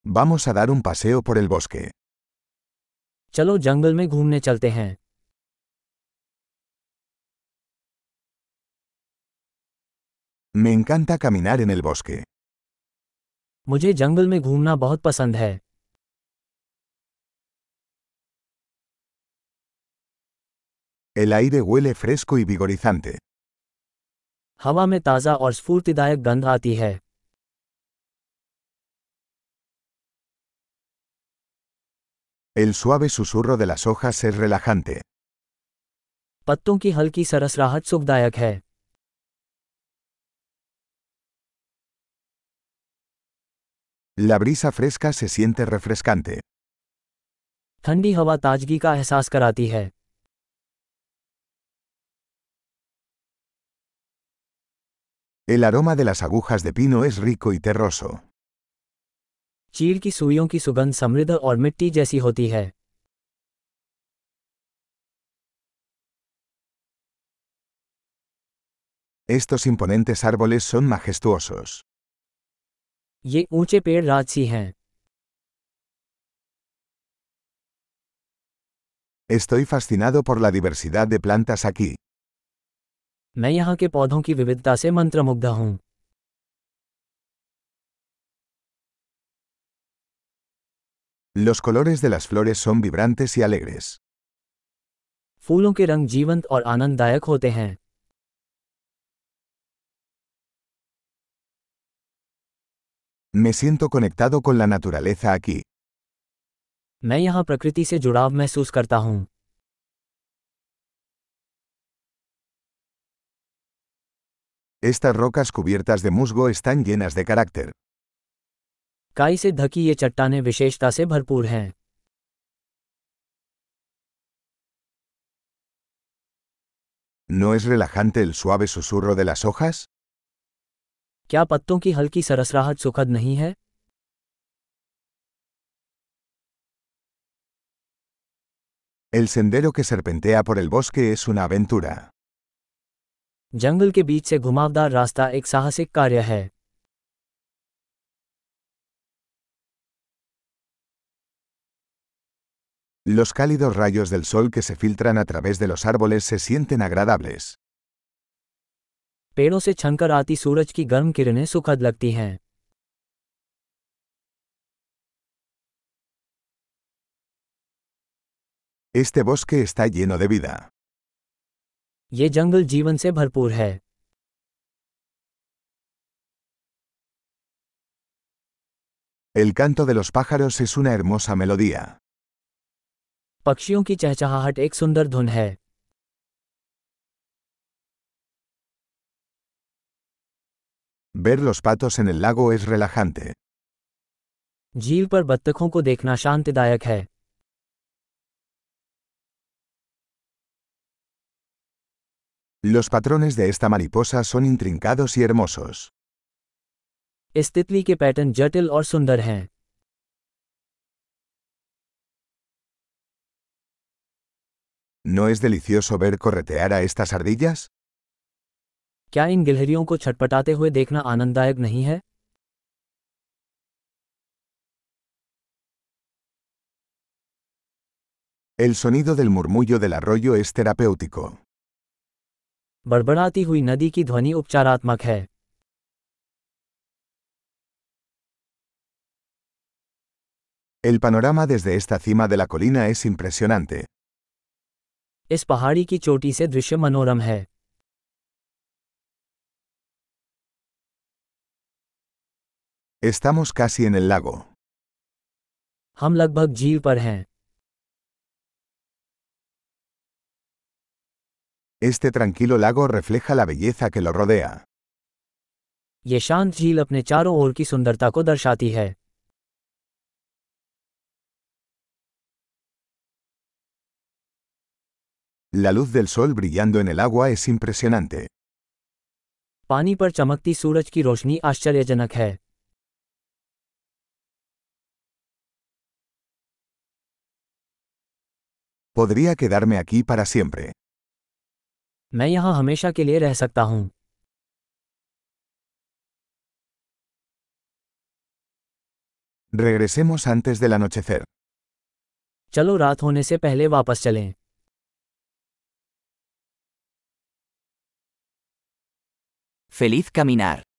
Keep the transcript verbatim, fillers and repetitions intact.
Vamos a dar un paseo por el bosque. चलो जंगल में घूमने चलते हैं। Me encanta caminar en el bosque. मुझे जंगल में घूमना बहुत पसंद है। El aire huele fresco y vigorizante. हवा में ताज़ा और स्फूर्तिदायक गंध आती है। El suave susurro de las hojas es relajante. पत्तों की हल्की सरसराहट सुखदायक है। La brisa fresca se siente refrescante. ठंडी हवा ताजगी का एहसास कराती है। El aroma de las agujas de pino es rico y terroso. चीड़ की सुइयों की सुगंध समृद्ध और मिट्टी जैसी होती है। Estos imponentes árboles son majestuosos. ये ऊंचे पेड़ राजसी हैं। Estoy fascinado por la diversidad de plantas aquí. मैं यहाँ के पौधों की विविधता से मंत्रमुग्ध हूँ। Los colores de las flores son vibrantes y alegres. फूलों के रंग जीवंत और आनंददायक होते हैं। Me siento conectado con la naturaleza aquí. मैं यहाँ प्रकृति से जुड़ाव महसूस करता हूँ। Estas rocas cubiertas de musgo están llenas de carácter. काई से ढकी ये चट्टानें विशेषता से भरपूर हैं। ¿No es relajante el suave susurro de las hojas? क्या पत्तों की हल्की सरसराहट सुखद नहीं है? El sendero que serpentea por el bosque es una aventura. जंगल के बीच से घुमावदार रास्ता एक साहसिक कार्य है। Los cálidos rayos del sol que se filtran a través de los árboles se sienten agradables. पेड़ों से छनकर आती सूरज की गर्म किरणें सुखद लगती हैं। Este bosque está lleno de vida. ये जंगल जीवन से भरपूर है। El canto de los pájaros es una hermosa melodía. पक्षियों की चहचहाहट एक सुंदर धुन है। Ver los patos en el lago es relajante. झील पर बत्तखों को देखना शांतिदायक है। Los patrones de esta mariposa son intrincados y hermosos. इस तितली के पैटर्न जटिल और सुंदर हैं। ¿No es delicioso ver corretear a estas ardillas? क्या इन गिलहरियों को छटपटाते हुए देखना आनंददायक नहीं है? El sonido del murmullo del arroyo es terapéutico. बड़बड़ाती हुई नदी की ध्वनि उपचारात्मक है। El panorama desde esta cima de la colina es impresionante. इस पहाड़ी की चोटी से दृश्य मनोरम है। Estamos casi en el lago. हम लगभग झील पर हैं। Este tranquilo lago refleja la belleza que lo rodea. ये शांत झील अपने चारों ओर की सुंदरता को दर्शाती है। La luz del sol brillando en el agua es impresionante. पानी पर चमकती सूरज की रोशनी आश्चर्यजनक है। Podría quedarme aquí para siempre. मैं यहाँ हमेशा के लिए रह सकता हूँ। Regresemos antes del anochecer. चलो रात होने से पहले वापस चलें। Feliz caminar.